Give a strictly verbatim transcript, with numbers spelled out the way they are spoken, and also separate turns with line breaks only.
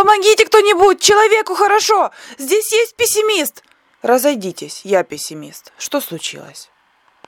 Помогите кто-нибудь! Человеку хорошо! Здесь есть пессимист! Разойдитесь, я пессимист. Что случилось?